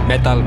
מטל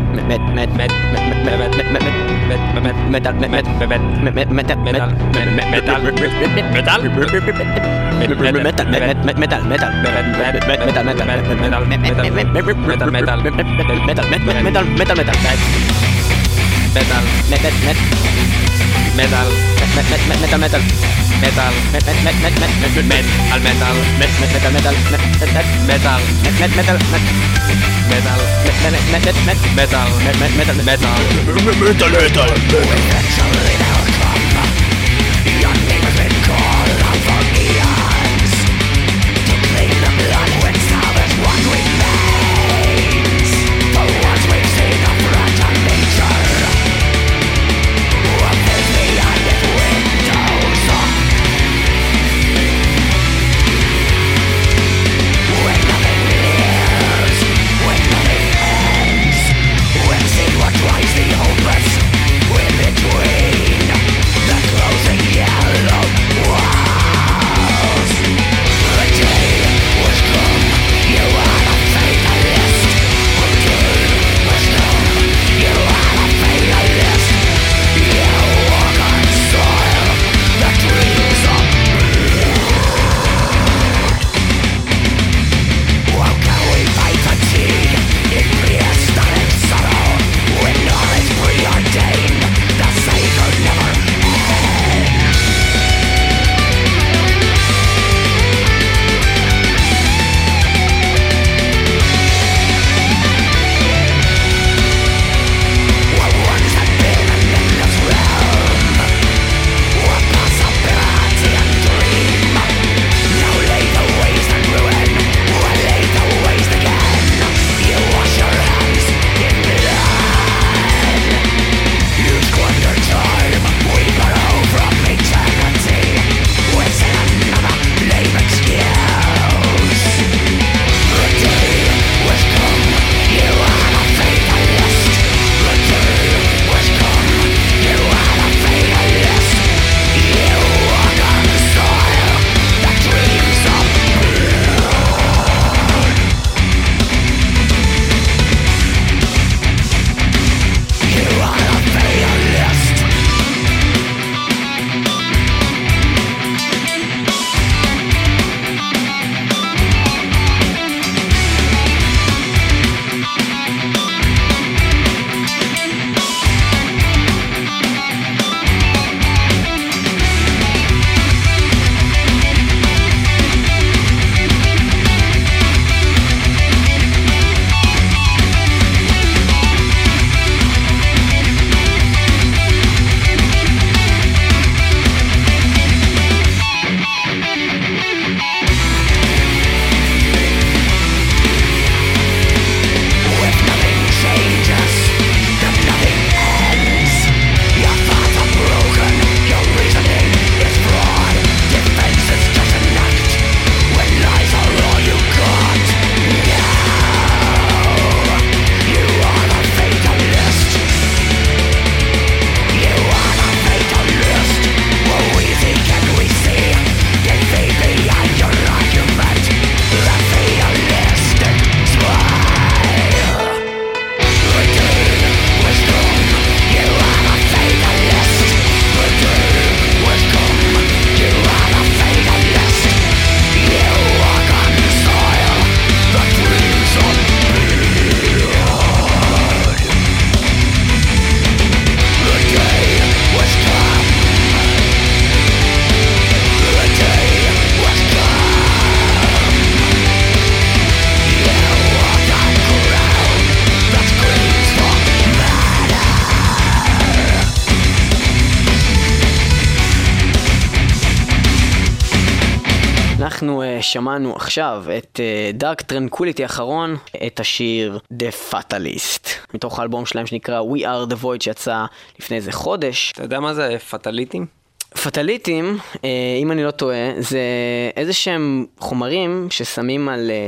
אנחנו שמענו עכשיו את Dark Tranquility האחרון, את השיר The Fatalist, מתוך האלבום שלהם שנקרא We Are The Void שיצא לפני איזה חודש. אתה יודע מה זה פטליטים? פטליטים, אם אני לא טועה, זה איזה שהם חומרים ששמים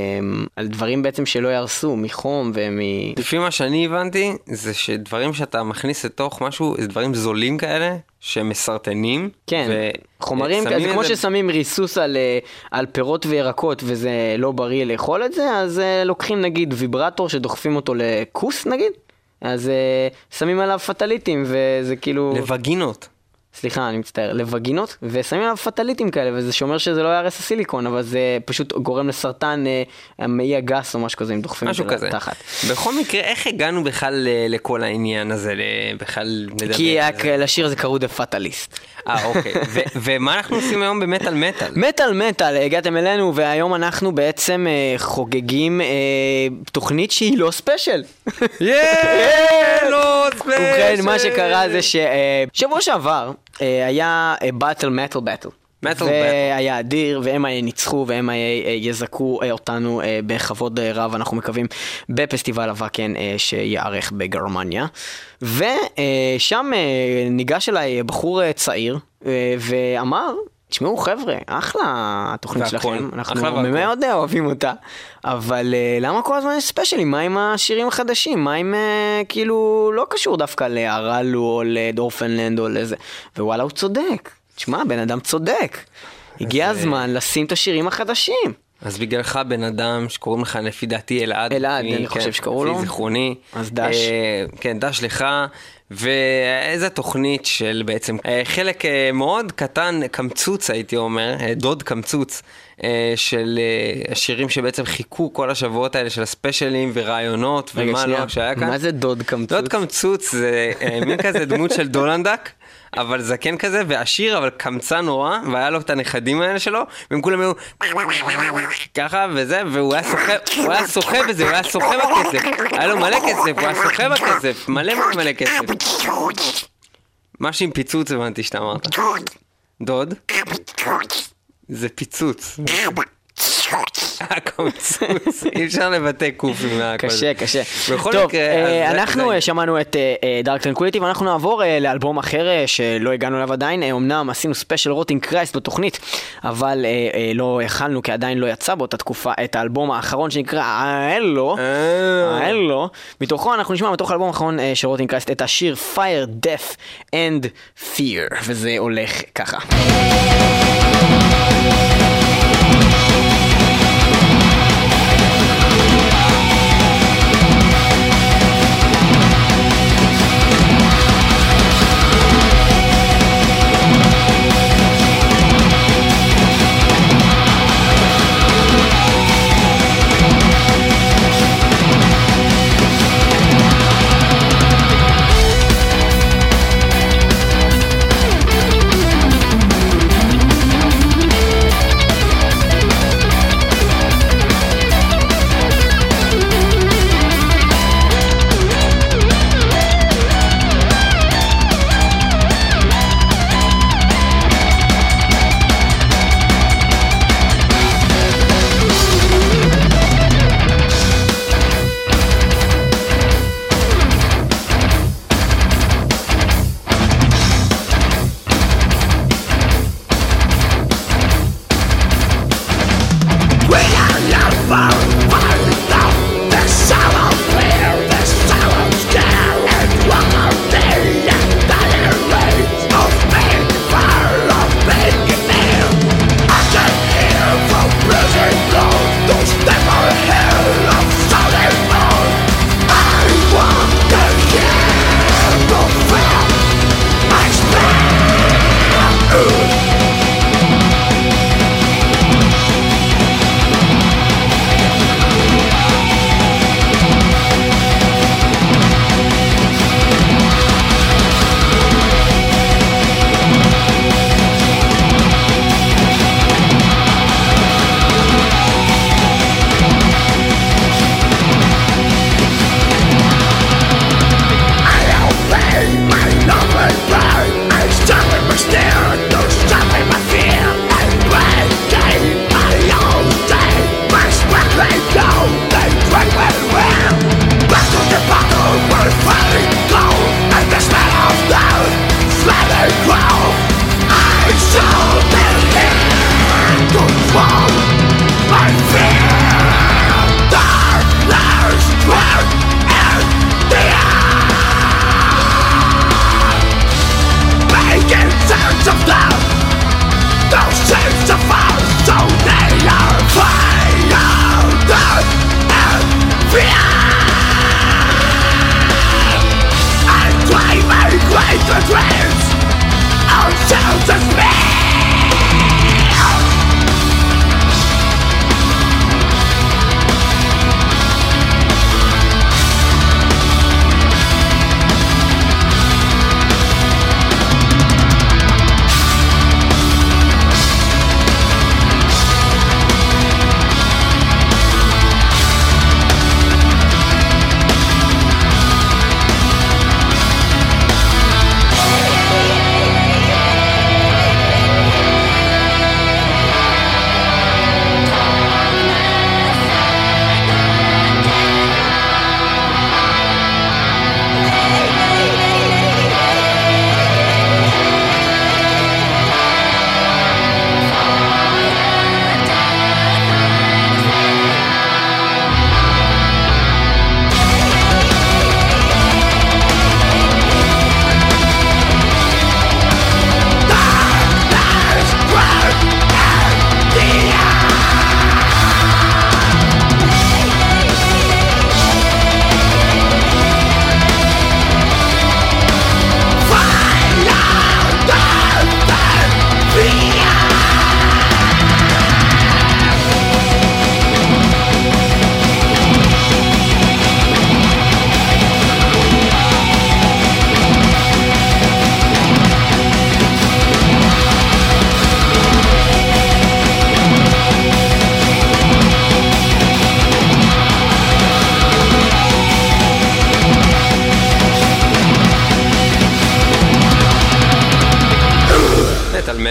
על דברים בעצם שלא ירסו, מחום לפי מה שאני הבנתי, זה שדברים שאתה מכניס לתוך משהו, זה דברים זולים כאלה, שמסרטנים. כן, חומרים, זה כמו ששמים ריסוס על פירות וירקות, וזה לא בריא לאכול את זה, אז לוקחים נגיד ויברטור שדוחפים אותו לכוס נגיד, אז שמים עליו פטליטים, וזה כאילו... לווגינות. סליחה, אני מצטער, לווגינות, ושמים עליו פטליטים כאלה, וזה שאומר שזה לא ירס הסיליקון, אבל זה פשוט גורם לסרטן המעי הגס או משהו כזה, אם דוחפים את זה לתחת. בכל מקרה, איך הגענו בכלל לכל העניין הזה, בכלל לדבר? כי לשיר זה קראו The Fatalist. אוקיי. ומה אנחנו עושים היום במטל מטל? מטל, הגעתם אלינו, והיום אנחנו בעצם חוגגים תוכנית שהיא לא ספיישל. לא ספיישל! ובכן, מה שקרה זה ששבוע שעבר היה Battle והיה אדיר, והם ניצחו, והם יזכו אותנו בכבוד רב, אנחנו מקווים, בפסטיבל הוואקן שיערך בגרמניה. ושם ניגש אליי בחור צעיר, ואמר, תשמעו חבר'ה, אחלה התוכנית שלכם, אנחנו מאוד אוהבים אותה, אבל למה כל הזמן יש ספיישלים? מה עם השירים החדשים? מה עם כאילו לא קשור דווקא להרלו או לדורפנלנד או לזה? ווואלה, הוא צודק. תשמע, בן אדם צודק. הגיע הזמן לשים את השירים החדשים. אז בגללך בן אדם שקוראים לך לפי דעתי אלעד. אלעד, אני חושב שקראו לו. לפי זיכרוני. אז דש. כן, דש לך. ואיזה תוכנית של בעצם חלק מאוד קטן, קמצוץ הייתי אומר, דוד קמצוץ, של השירים שבעצם חיכו כל השבועות האלה של הספיישלים ורעיונות ומה לא שהיה כאן. מה זה דוד קמצוץ? דוד קמצוץ זה מין כזה דמות של דולנדק, אבל זקן כזה, ועשיר, אבל קמצא נורא, והיה לו את הנכדים האלה שלו, והם כולם היו ככה וזה, והוא היה שוחה בזה, הוא היה שוחה בכסף, היה לו מלא כסף, הוא היה שוחה בכסף, מלא כסף. משהו עם פיצוץ הבנתי שאתה אמרת. דוד? זה פיצוץ. הקמצוץ, אי אפשר לבטא קופים. קשה. טוב, אנחנו שמענו את דארק טרנקוליטי, ואנחנו נעבור לאלבום אחר שלא הגענו אליו עדיין. אמנם עשינו ספיישל רוטינג קרייסט בתוכנית, אבל לא הכלנו, כי עדיין לא יצא באותה תקופה את האלבום האחרון שנקרא האלו. מתוכו אנחנו נשמע מתוך האלבום האחרון של רוטינג קרייסט את השיר Fire, Death and Fear, וזה הולך ככה.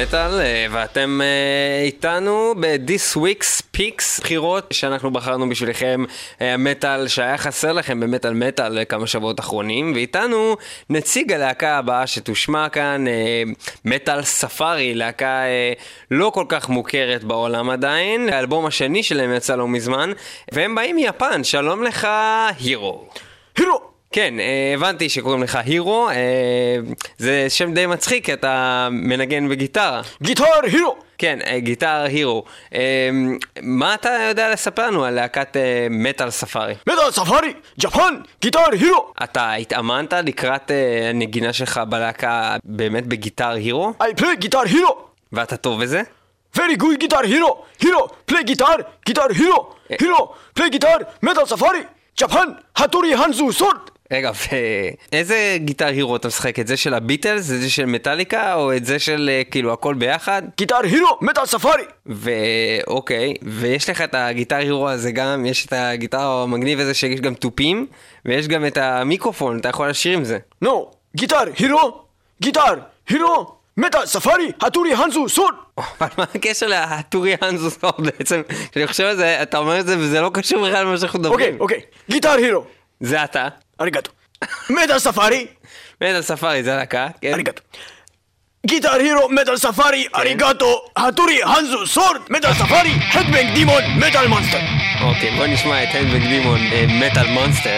מטל, ואתם איתנו ב-This Week's Picks, בחירות שאנחנו בחרנו בשבילכם, מטל שהיה חסר לכם במטל מטל כמה שבועות אחרונים, ואיתנו נציג הלהקה הבאה שתושמע כאן, מטל ספארי, להקה לא כל כך מוכרת בעולם עדיין, האלבום השני שלהם יצא לא מזמן, והם באים מיפן. שלום לך, הירו. הירו! כן, הבנתי שקוראים לך הירו, זה שם די מצחיק, אתה מנגן בגיטרה. גיטר הירו! כן, גיטר הירו. מה אתה יודע לספר לנו על להקת מטל ספארי? מטל ספארי, ג'פן, גיטר הירו! אתה התאמנת לקראת הנגינה שלך בלהקה באמת בגיטר הירו? I play guitar hero! ואתה טוב בזה? Very good guitar hero! Hero, play guitar, guitar hero! Hero, play guitar, metal safari! ג'פן, הטורי הנזו סורד! רגע, ואיזה גיטר הירו אתה משחק? את זה של הביטלס? את זה של מטליקה? או את זה של כאילו הכל ביחד? גיטר הירו, מטל ספארי! אוקיי, ויש לך את הגיטר הירו הזה גם, יש את הגיטר המגניב הזה שיש גם טופים, ויש גם את המיקרופון, אתה יכול לשיר עם זה. נו, גיטר הירו, מטל ספארי, הטורי הנזו סורד! אבל מה הקשר להטורי הנזו סורד בעצם? כשאני חושב על זה, אתה אומר את זה וזה לא קשור בכלל למה שאנחנו מדברים. אוקיי, גיטר הירו! זה אתה. אריגטו. מטל ספארי! מטל ספארי, זה להקה, כן? אריגטו. גיטר הירו, מטל ספארי, אריגטו, הטורי הנזו סורד, מטל ספארי, הדבנג דימון, מטל מונסטר! אוקיי, בוא נשמע את הדבנג דימון, מטל מונסטר.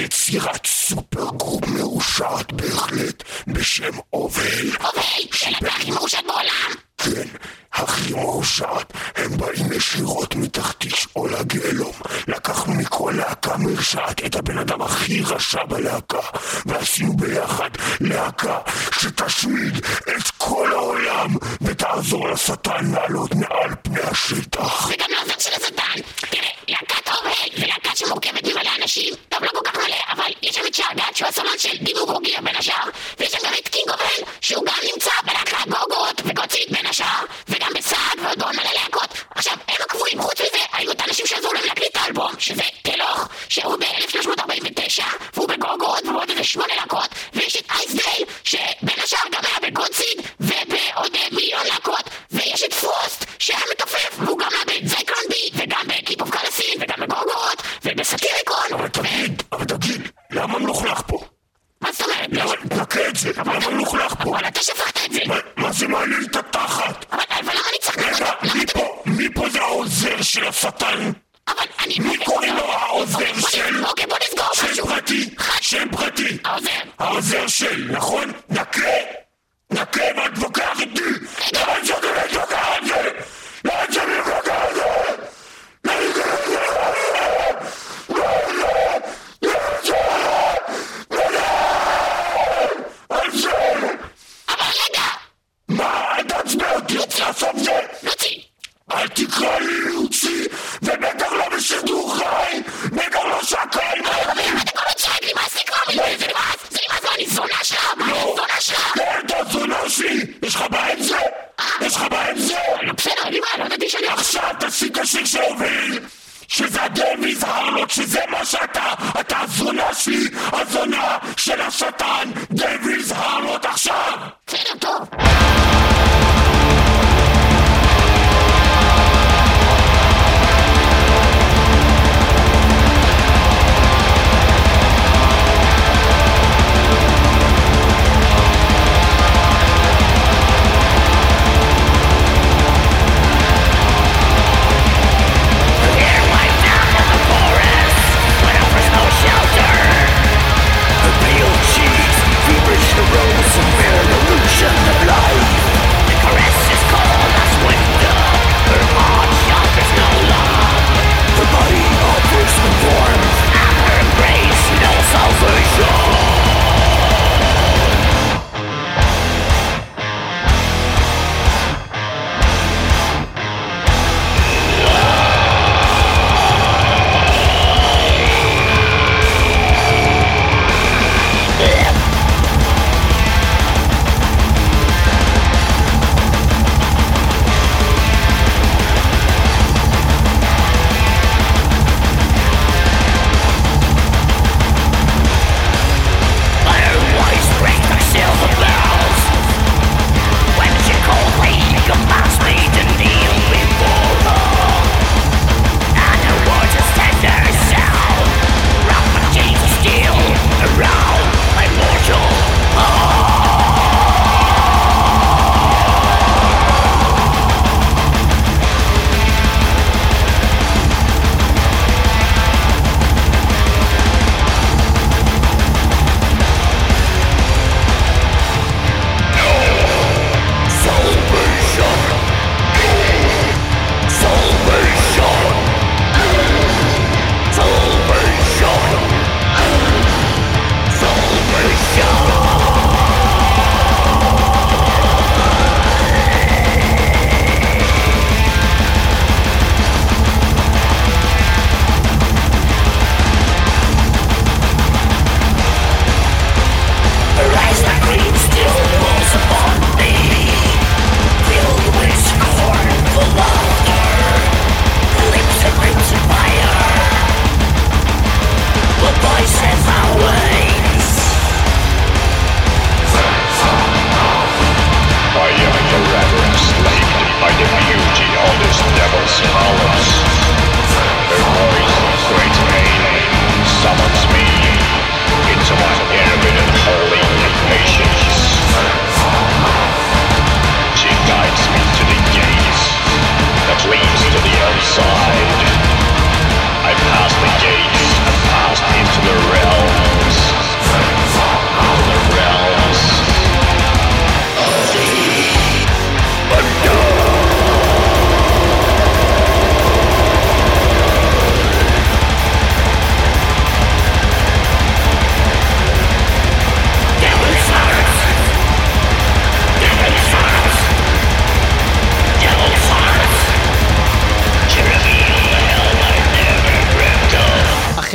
יצירת סופר גרופ מאושרת בהחלט בשם אובל. של הכי מאושרת בעולם. כן, הכי מאושרת. הם באים ישירות מתחת שאול הגיהנום. לקחנו מכל להקה מרשעת את הבן אדם הכי רשע בלהקה, ועשינו ביחד להקה שתשמיד את כל העולם ותעזור לשטן לעלות מעל פני השטח. וגם לעזור של השטן. תראה, להקת אובל ולהקה שמורכבת ממלא אנשים, טוב לא כל כך מלא, אבל יש שם את שעגת שהוא הסולן של דיבוק רוגיה בין השאר, ויש שם גם את קינג אובל שהוא גם נמצא בלהקת גוגות וגוצית בין השאר, וגם בסעד ועוד עוד מלא להקות. עכשיו, הם הקבועים, חוץ מזה, היו את האנשים שעזרו להם להקליט את האלבום, שזה תלוך, שהוא ב-1349, והוא בגוגות ועוד איזה 8 להקות, ויש את אייסדייל, שבין השאר גם היה בגודסיד, ובעוד מיליון להקות, ויש את פרוסט, שהיה מתופף, והוא גם היה בזייקלון בי, וגם בקיפ אוף קלסין, וגם בגוגות, ובסטיריקון. אבל תגיד, למה מלוכלך פה? מה זאת אומרת? נקה את זה, למה מלוכלך פה? אבל אתה שפכת את זה. מה זה מעניין את התחת? אבל למה אני צריך... רגע, מי פה זה העוזר של השטן? אבל אני... מי קוראים לו העוזר של? אוקיי, בוא נסגור משהו. שם פרטי. העוזר של, נכון? נקה, מה תבוקח איתי? למה אני מתווכח על זה? אל תקרא לי לוצי, ובטח לא בשידור חי, בטח לא שקל. אתה כל עוד שרק נמאס לקרוא לי, זה נמאס, אני זונה שלך, אתה זונה שלי, יש לך בעיה עם זה? בסדר, אני מה, לא ידעתי שאני... עכשיו תפסיק השיר שהוביל, שזה הדמיז הרלוט, שזה מה שאתה, אתה הזונה שלי, הזונה של השטן, דמיז הרלוט עכשיו. בסדר, טוב. The pale cheeks, feverish heroes, some fair illusion of love.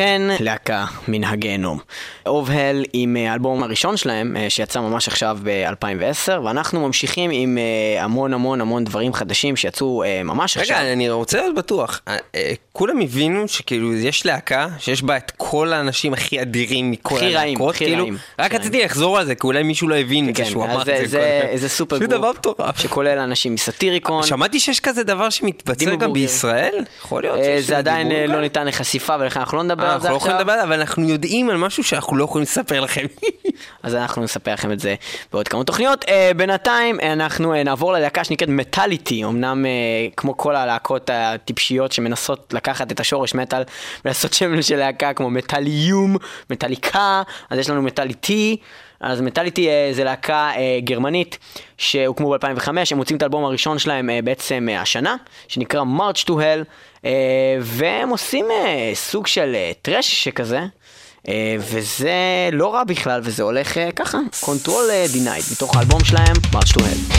כן, להקה מן הגיהנום. אובהל עם האלבום הראשון שלהם, שיצא ממש עכשיו ב-2010, ואנחנו ממשיכים עם המון דברים חדשים שיצאו ממש עכשיו. רגע, אני רוצה להיות בטוח. כולם הבינו שכאילו יש להקה שיש בה את כל האנשים הכי אדירים מכל הלהקות, כאילו. רק רציתי לחזור על זה, כי אולי מישהו לא הבין שהוא אמר את זה. זה סופר גרופ, שכולל אנשים מסטיריקון. שמעתי שיש כזה דבר שמתבצע גם בישראל? יכול להיות. זה עדיין לא ניתן לחשיפה, ולכן אנחנו לא נדבר על זה עכשיו. אנחנו לא יכולים לדבר, אבל אנחנו יודעים על משהו שאנחנו לא יכולים לספר לכם. אז אנחנו נספר לכם את זה בעוד כמה תוכניות. בינתיים אנחנו נעבור ללהקה שנקראת מטליטי, אמנם כמו כל הלהקות הטיפשיות שמנסות לקחת את השורש מטל ולעשות שם של להקה כמו מטליום, מטליקה, אז יש לנו מטליטי. אז מטליטי זה להקה גרמנית שהוקמו ב-2005, הם מוצאים את האלבום הראשון שלהם בעצם השנה, שנקרא March to Hell, והם עושים סוג של טרש שכזה, וזה לא רע בכלל, וזה הולך ככה, Control Denied, מתוך האלבום שלהם, March to Hell.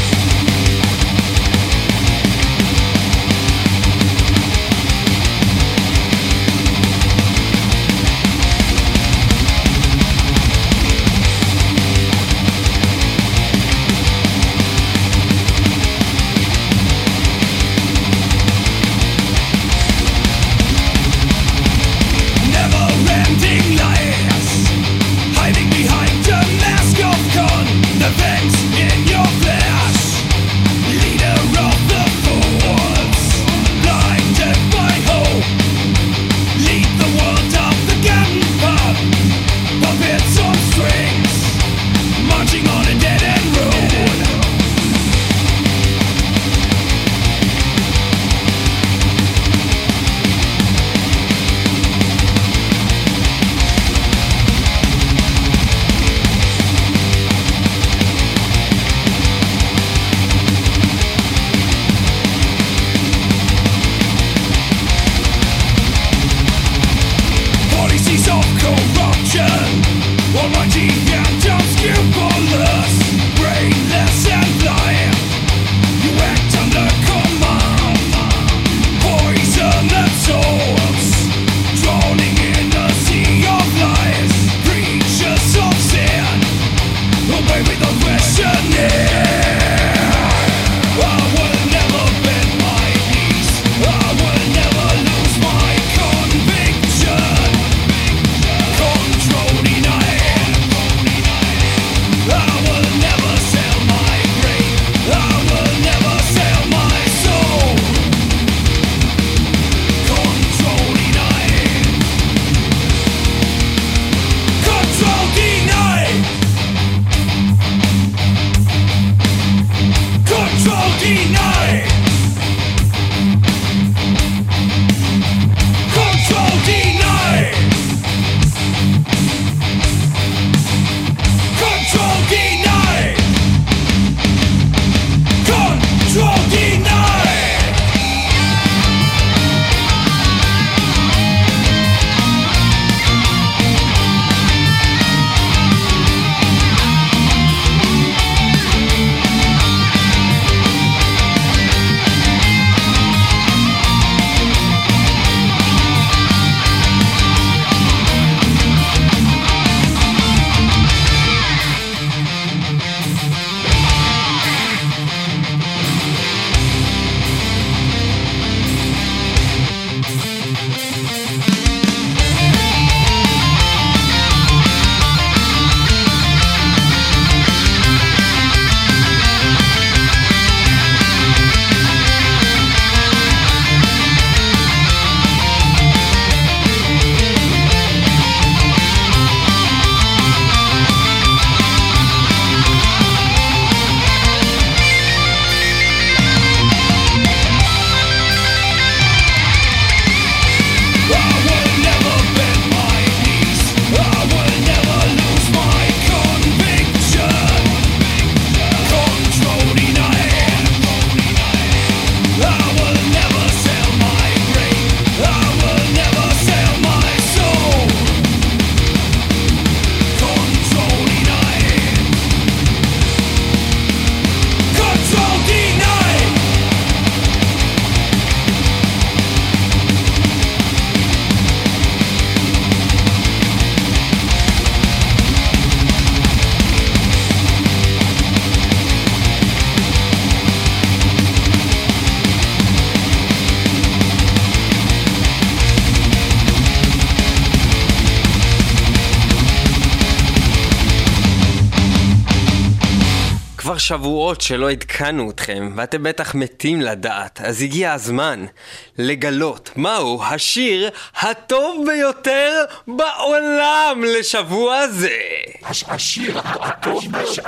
כבר שבועות שלא עדכנו אתכם, ואתם בטח מתים לדעת, אז הגיע הזמן לגלות מהו השיר הטוב ביותר בעולם לשבוע זה. השיר הטוב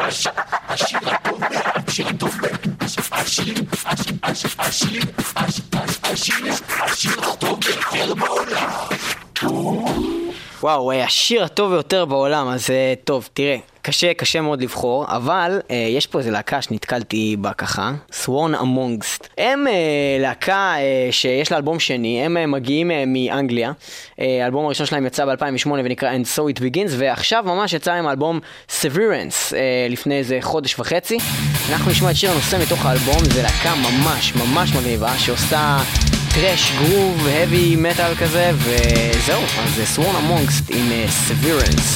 ביותר בעולם. וואו, השיר הטוב ביותר בעולם, אז טוב, תראה, קשה מאוד לבחור, אבל יש פה איזה להקה שנתקלתי בה ככה, Sworn Amongst. הם להקה שיש לה אלבום שני, הם מגיעים מאנגליה, האלבום הראשון שלהם יצא ב-2008 ונקרא And So It Begins, ועכשיו ממש יצא להם האלבום Severance לפני איזה חודש וחצי. אנחנו נשמע את שיר הנושא מתוך האלבום, זה להקה ממש מגניבה שעושה טרש, גרוב, heavy metal כזה, וזהו, אז זה Sworn Amongst עם Severance.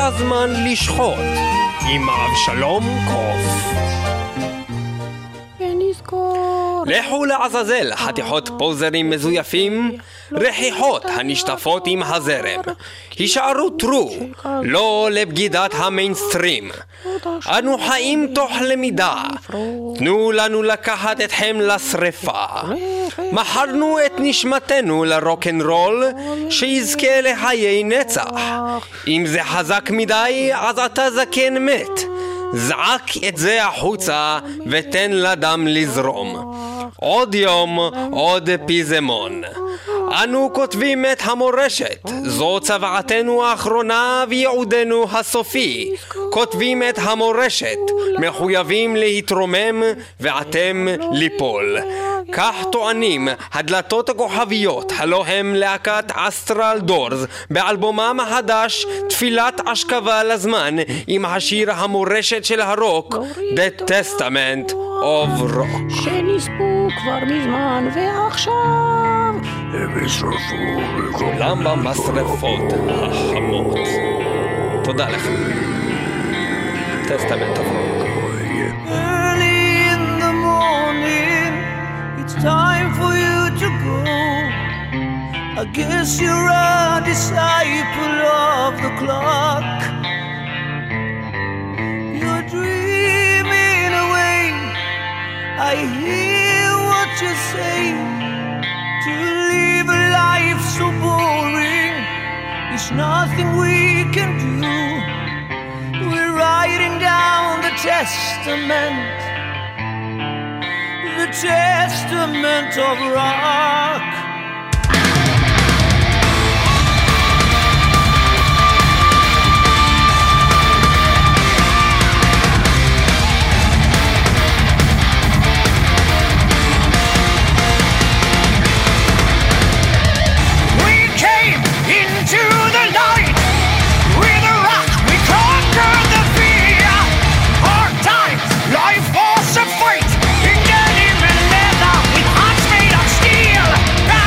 הזמן לשחוט עם אבשלום קוף. לכו לעזאזל, חתיכות פוזרים מזויפים, רכיחות הנשטפות עם הזרם. הישארו טרו, לא לבגידת המיינסטרים. אנו חיים תוך למידה, תנו לנו לקחת אתכם לשריפה. מכרנו את נשמתנו לרוקנרול, שיזכה לחיי נצח. אם זה חזק מדי, אז אתה זקן מת. זעק את זה החוצה ותן לדם לזרום. עוד יום, עוד פיזמון. אנו כותבים את המורשת, זו צוואתנו האחרונה וייעודנו הסופי. כותבים את המורשת, מחויבים להתרומם ואתם ליפול. כך טוענים הדלתות הכוכביות, הלא הם להקת אסטרל דורס, באלבומם החדש תפילת אשכבה לזמן, עם השיר המורשת של הרוק, The Testament of Rock. שנספו כבר מזמן ועכשיו הם ישרפו כולם במשרפות החמות. תודה לך. Testament of Rock. Early in the morning, it's time for you to go. I guess you're a disciple of the clock. You're dreaming away, I hear what you say. To live a life so boring, there's nothing we can do. We're writing down the testament of rock. Life was a fight in denim and leather with hearts made of steel.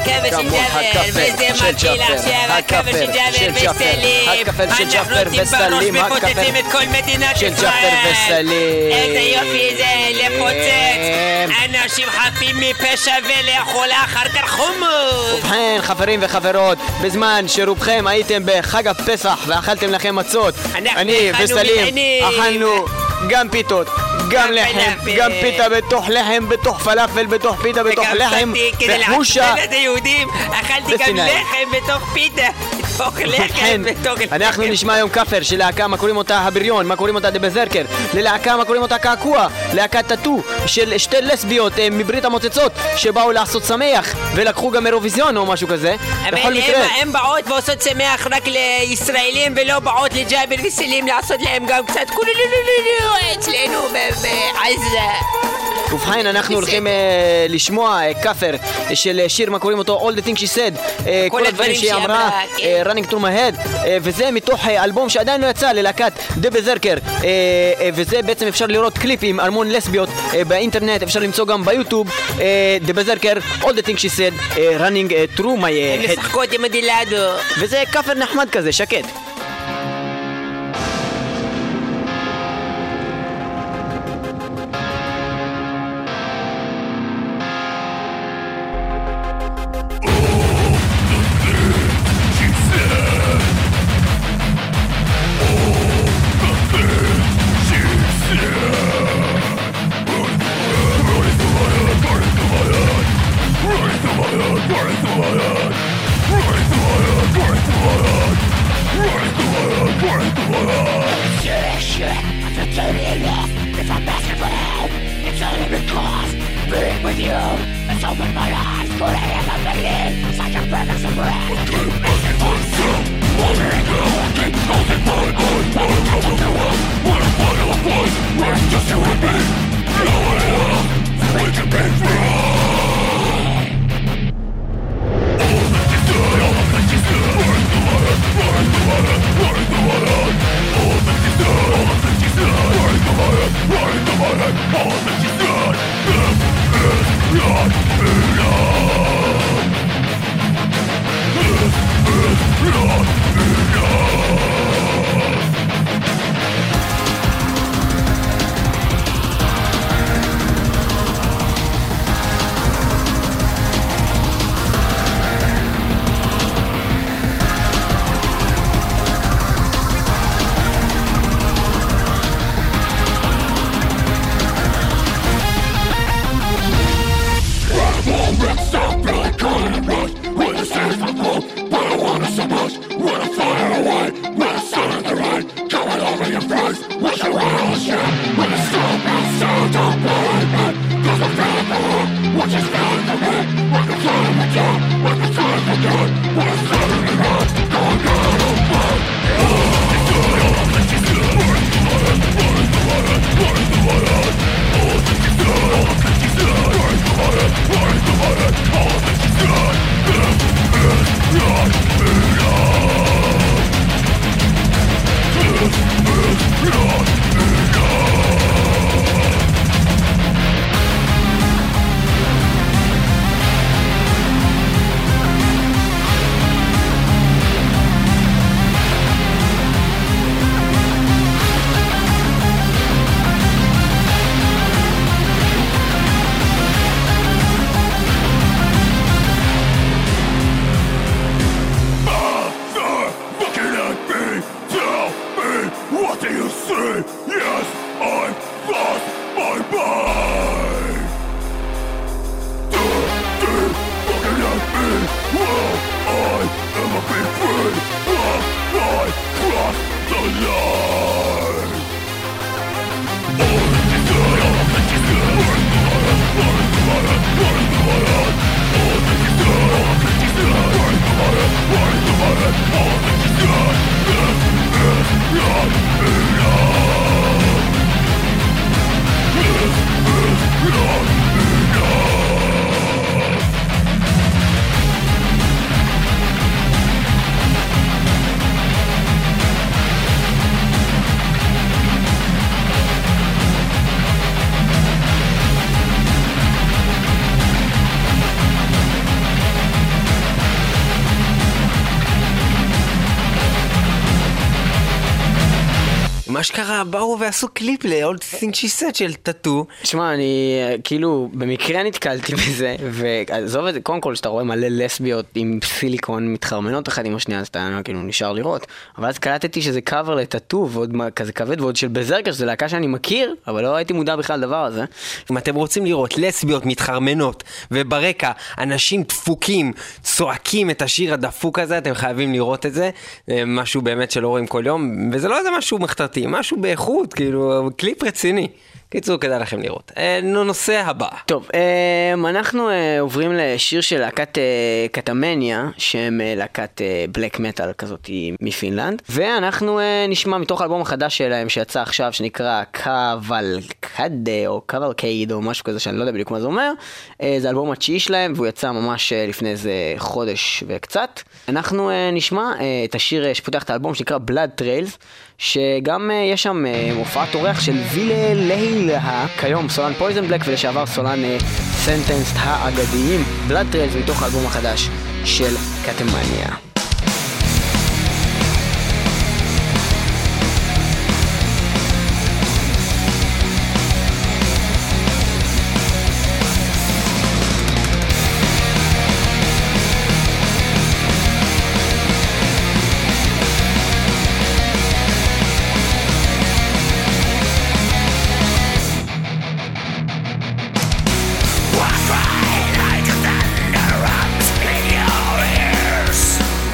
הכבל של ג'אבר, וזה של מתחיל ג'אבר, עכשיו, הכבל של ג'אבר וסלים. הכבל של ג'אבר וסלים, אנחנו מפוצצים את כל מדינת של ישראל. ג'אבר וסלים. איזה יופי זה, לפוצץ. אנשים חפים מפשע ולאכול אחר כך חומוס. ובכן, חברים וחברות, בזמן שרובכם הייתם בחג הפסח ואכלתם לכם מצות, אני וסלים אכלנו גם פיתות, גם לחם, גם פיתה בתוך לחם, בתוך פלאפל, בתוך פיתה, בתוך לחם, וחושה. את היהודים, אכלתי גם לחם בתוך פיתה, בתוך לחם, בתוך לחם. אנחנו נשמע היום כפר של להקה, מה קוראים אותה הבריון, מה קוראים אותה דבזרקר, ללהקה מה קוראים אותה קעקוע, להקת טאטו של שתי לסביות מברית המוצצות שבאו לעשות שמח ולקחו גם אירוויזיון או משהו כזה. בכל מקרה הם באות ועושות שמח רק לישראלים ולא באות לג'אבר וסלים לעשות להם גם קצת קולולולולולו אצלנו בעזה. ובכן, אנחנו הולכים לשמוע כפר של שיר, מה קוראים אותו? All the things she said, כל הדברים שהיא אמרה, Running through my head, וזה מתוך אלבום שעדיין לא יצא ללהקת דבזרקר, וזה בעצם אפשר לראות קליפים, המון לסביות באינטרנט, אפשר למצוא גם ביוטיוב, דבזרקר, All the things she said, Running through my הם head. משחקות עם הדילדו. וזה כפר נחמד כזה, שקט. מה שקרה, באו ועשו קליפ ל-All Things She Said של טאטו. תשמע, אני כאילו במקרה נתקלתי בזה, ועזוב את זה, קודם כל שאתה רואה מלא לסביות עם סיליקון מתחרמנות אחד עם השנייה, אז אתה כאילו נשאר לראות, אבל אז קלטתי שזה קאבר לטאטו, ועוד כזה כבד, ועוד של בזרקר, שזה להקה שאני מכיר, אבל לא הייתי מודע בכלל לדבר הזה. אם אתם רוצים לראות לסביות מתחרמנות, וברקע אנשים דפוקים צועקים את השיר הדפוק הזה, אתם חייבים לראות את זה, משהו באמת שלא רואים כל יום, וזה לא איזה משהו מחתרתי, משהו באיכות, כאילו קליפ רציני. קיצור, כדאי לכם לראות. נושא הבא. טוב, אנחנו עוברים לשיר של להקת קטמניה, שהם להקת בלק מטל כזאת מפינלנד, ואנחנו נשמע מתוך האלבום החדש שלהם שיצא עכשיו, שנקרא קוולקדה או קוולקייד או משהו כזה שאני לא יודע בדיוק מה זה אומר. זה האלבום התשיעי שלהם והוא יצא ממש לפני איזה חודש וקצת. אנחנו נשמע את השיר שפותח את האלבום שנקרא Blood Trails, שגם יש שם הופעת אורח של וילה להילה, כיום סולן פויזן בלק ולשעבר סולן סנטנסט האגדיים. Blood Trails מתוך האלבום החדש של קטמניה. Like the thunder runs in your ears.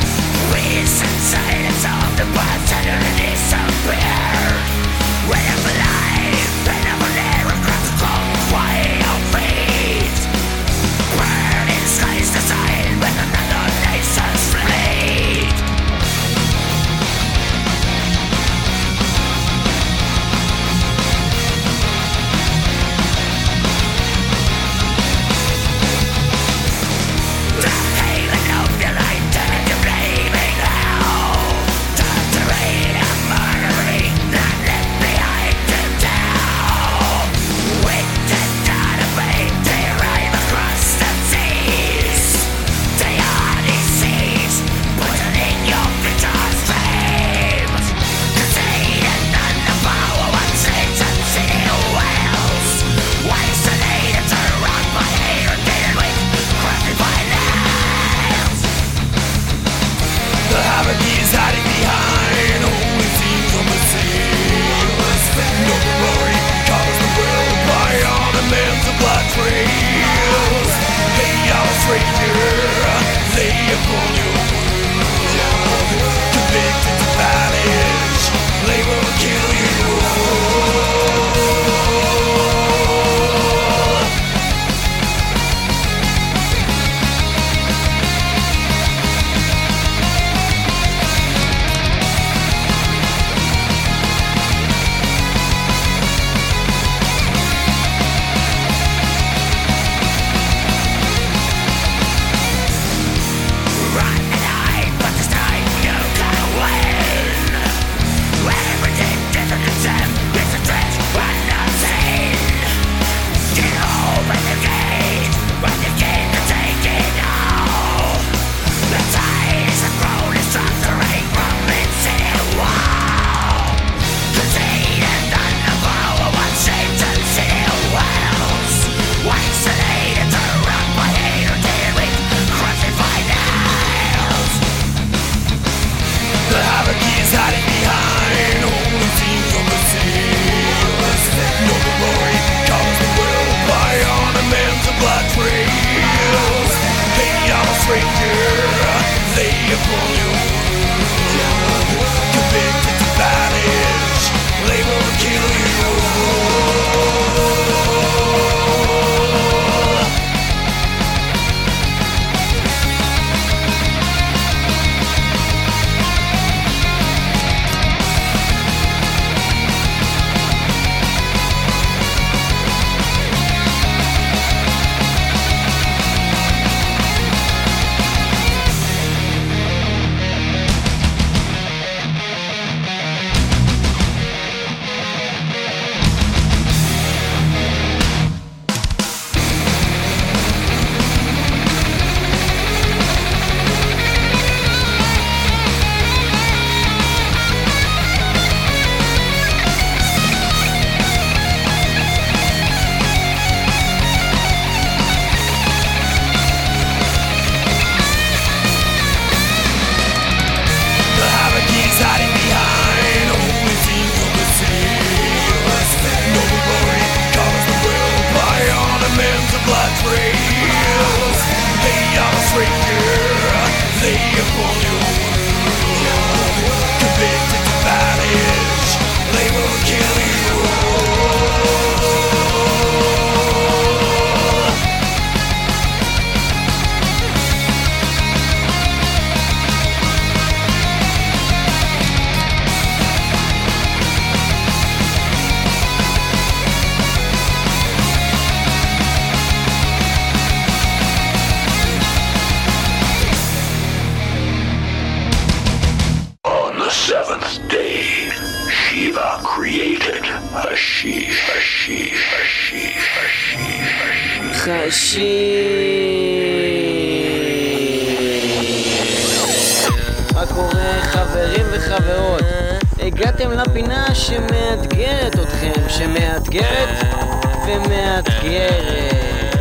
מה קורה חברים וחברות? הגעתם לפינה שמאתגרת אתכם, שמאתגרת ומאתגרת.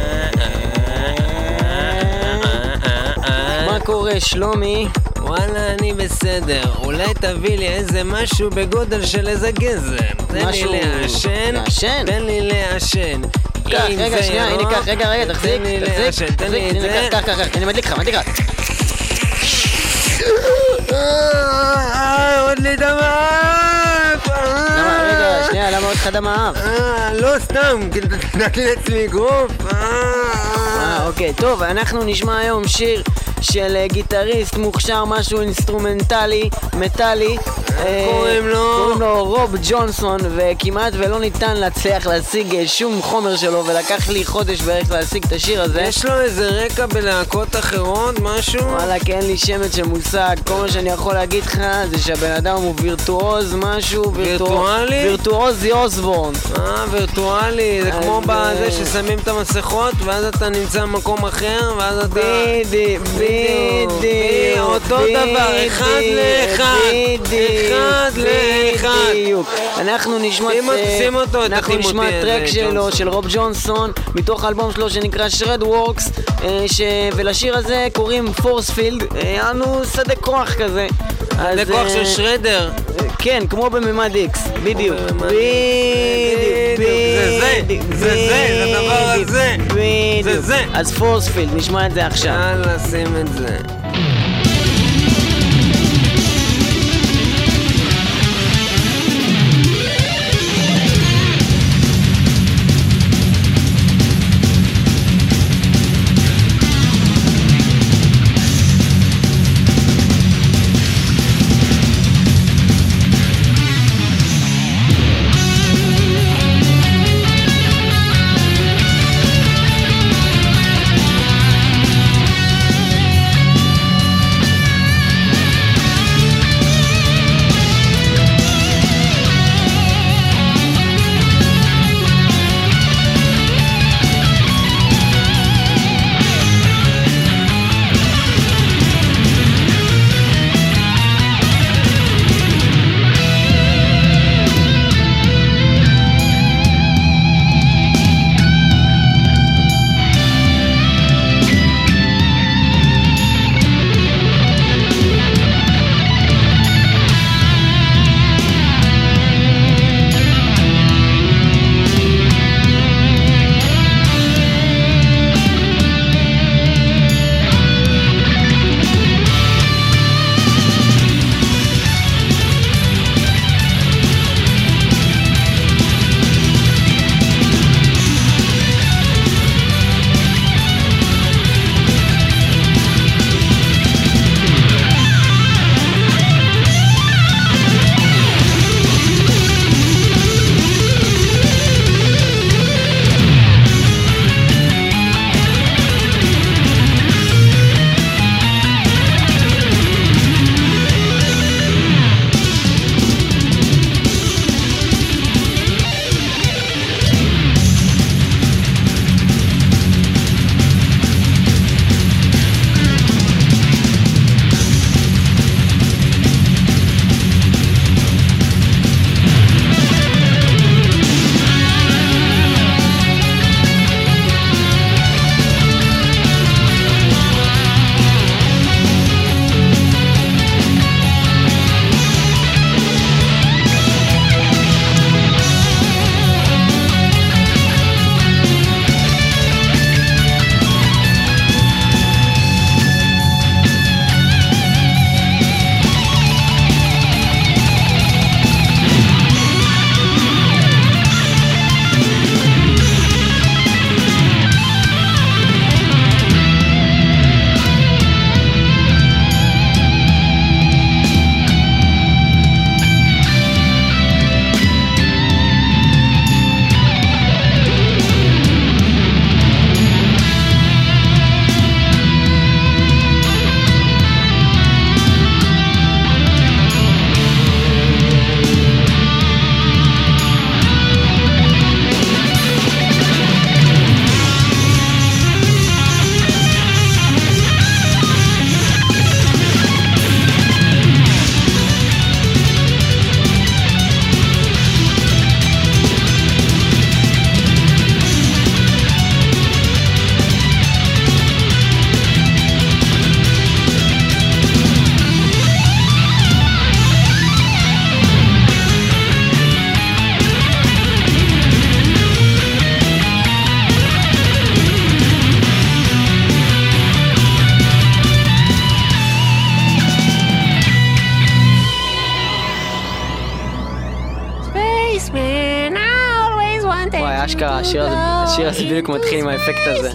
מה קורה שלומי? וואלה, אני בסדר. אולי תביא לי איזה משהו בגודל של איזה גזר. תן לי לעשן. לעשן? תן לי לעשן. קח, רגע, שנייה, הנה קח, רגע, תחזיק, תן לי את זה. קח, אני מדליק לך. עוד לי דם האף. רגע, שנייה, למה עוד לך דם האף? לא סתם, נתתי לעצמי גרוף. אוקיי, טוב, אנחנו נשמע היום שיר של גיטריסט מוכשר, משהו אינסטרומנטלי, מטאלי. קוראים לו רוב ג'ונסון, וכמעט ולא ניתן להצליח להשיג שום חומר שלו, ולקח לי חודש בערך להשיג את השיר הזה. יש לו איזה רקע בלהקות אחרות, משהו? וואלה, כי אין לי שמץ של מושג. כל מה שאני יכול להגיד לך זה שהבן אדם הוא וירטואוז, משהו וירטואלי? וירטואוזי אוסבורן. וירטואלי, זה כמו בזה ששמים את המסכות ואז אתה נמצא במקום אחר ואז אתה... בדיוק. אותו דבר, אחד לאחד. אנחנו נשמע טרק שלו, של רוב ג'ונסון, מתוך האלבום שלו שנקרא שרד וורקס, ולשיר הזה קוראים פורספילד. אנו שדה כוח כזה. שדה כוח של שרדר. כן, כמו בממד איקס, בדיוק. זה הדבר הזה. זה. אז פורספילד, נשמע את זה עכשיו. יאללה, שים את זה. השיר הזה בדיוק מתחיל עם האפקט הזה.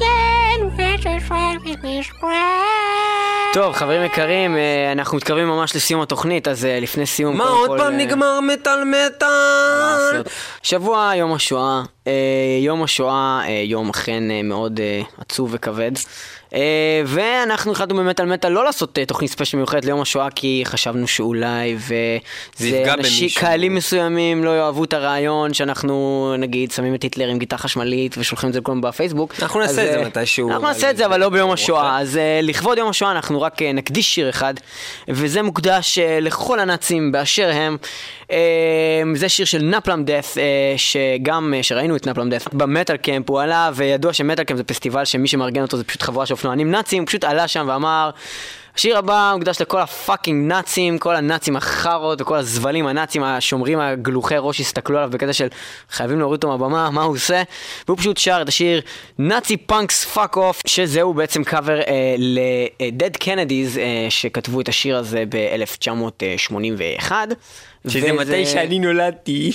טוב, חברים יקרים, אנחנו מתקרבים ממש לסיום התוכנית, אז לפני סיום... מה, עוד פעם נגמר מטל? שבוע יום השואה. יום השואה, יום אכן מאוד עצוב וכבד. ואנחנו החלטנו באמת על מטל לא לעשות תוכנית ספיישל מיוחדת ליום השואה, כי חשבנו שאולי וזה קהלים מסוימים לא יאהבו את הרעיון שאנחנו נגיד שמים את היטלר עם גיטה חשמלית ושולחים את זה לכולם בפייסבוק. אנחנו נעשה את זה מתישהו. אנחנו נעשה את זה אבל לא ביום השואה. אז לכבוד יום השואה אנחנו רק נקדיש שיר אחד, וזה מוקדש לכל הנאצים באשר הם. זה שיר של נפלם דף, שגם שראינו את נפלם דף במטל קמפ הוא עלה, וידוע שמטל קמפ זה פסטיבל שמי שמארגן אותו זה פשוט חבורה של אופנוענים נאצים. הוא פשוט עלה שם ואמר, השיר הבא מוקדש לכל הפאקינג נאצים, כל הנאצים החרות וכל הזבלים הנאצים השומרים הגלוחי ראש הסתכלו עליו בקטע של חייבים להוריד אותו מהבמה, מה הוא עושה? והוא פשוט שר את השיר נאצי פאנקס פאק אוף, שזהו בעצם קאבר ל-Dead Kennedys שכתבו את השיר הזה ב-1981, שזה מתי שאני נולדתי.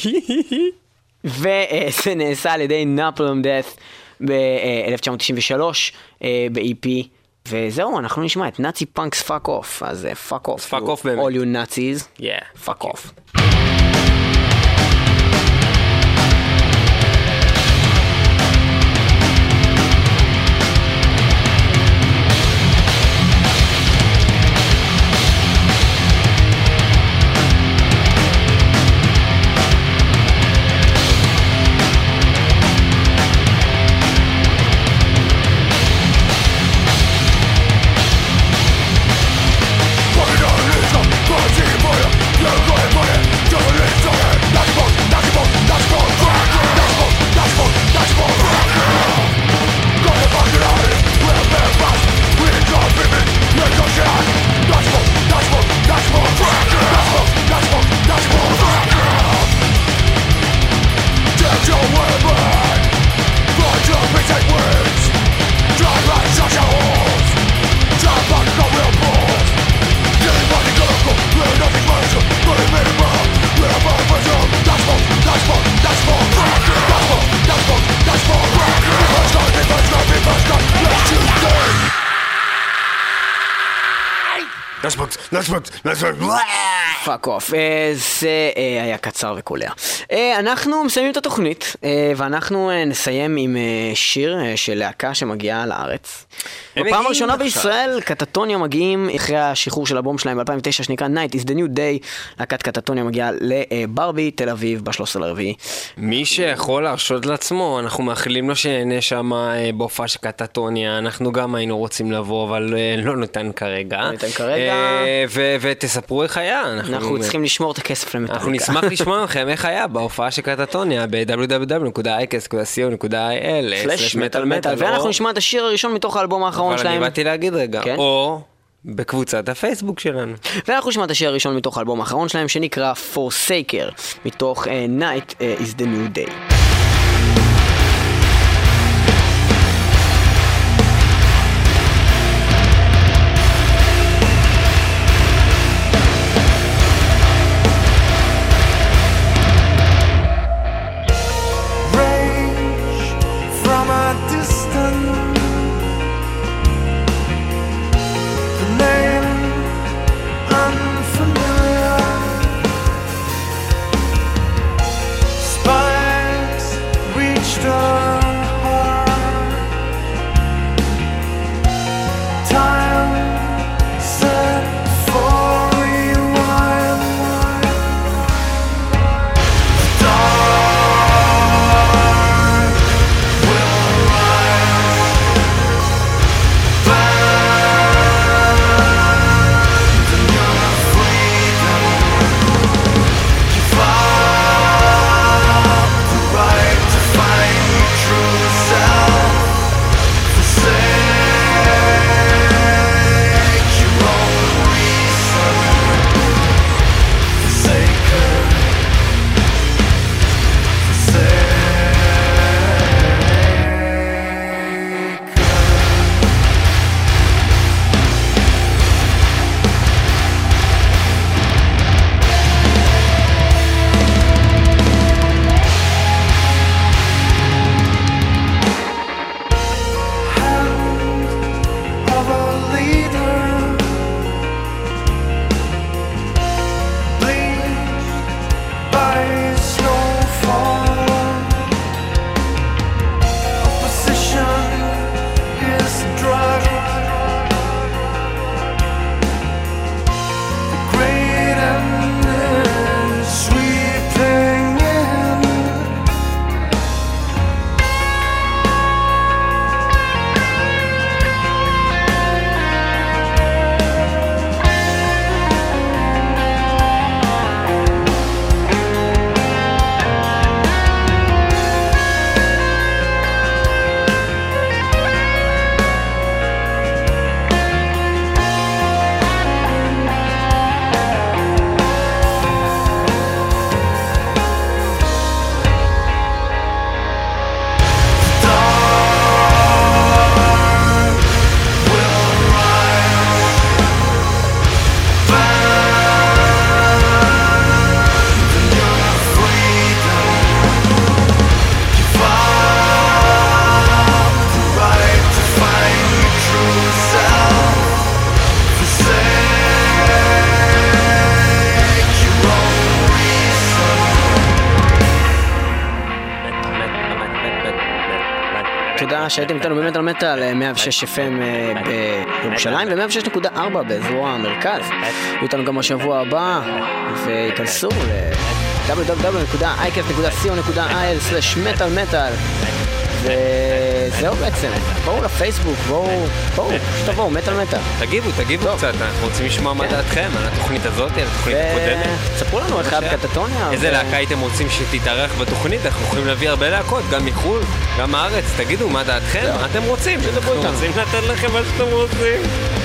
וזה נעשה על ידי נפלם דף ב-1993 ב-EP. וזהו, אנחנו נשמע את נאצי פאנקס פאק אוף. אז פאק אוף. פאק אוף באמת. All you Nazis. Yeah. פאק אוף. פאק אוף. זה היה קצר וקולע. אנחנו מסיימים את התוכנית, ואנחנו נסיים עם שיר של להקה שמגיעה לארץ. בפעם הראשונה בישראל קטטוניה מגיעים אחרי השחרור של הבום שלהם ב-2009 שנקרא Night is the New Day. להקת קטטוניה מגיעה לברבי תל אביב ב-13 לרביעי. מי שיכול להרשות לעצמו, אנחנו מאחלים לו שנהנה שם בהופעה של קטטוניה. אנחנו גם היינו רוצים לבוא, אבל לא ניתן כרגע. ותספרו איך היה. אנחנו צריכים לשמור את הכסף למטאליקה. אנחנו נשמח לשמוע לכם איך היה בהופעה של קטטוניה ב-www.icast.co.il/metal-metal. ואנחנו נשמע את השיר הראשון מתוך האלבום האחרון שלהם. אבל אני באתי להגיד רגע, או בקבוצת הפייסבוק שלנו. ואנחנו נשמע את השיר הראשון מתוך האלבום האחרון שלהם שנקרא Forsaker, מתוך Night is the New Day. Spine תודה שהייתם איתנו באמת על מטל, 106 FM בירושלים ו106.4 באזור המרכז. יהיו איתנו גם בשבוע הבא, ויכנסו www.icast.co.il/metal וזהו בעצם, בואו לפייסבוק, בואו, שתבואו, מטל. תגיבו קצת, אנחנו רוצים לשמוע מה דעתכם על התוכנית הזאת, על התוכנית הקודמת. ספרו לנו איך היה בקטטוניה. איזה להקה הייתם רוצים שתתארח בתוכנית, אנחנו יכולים להביא הרבה להקות, גם מחול, גם מארץ, תגידו מה דעתכם, מה אתם רוצים, אנחנו רוצים לתת לכם מה שאתם רוצים.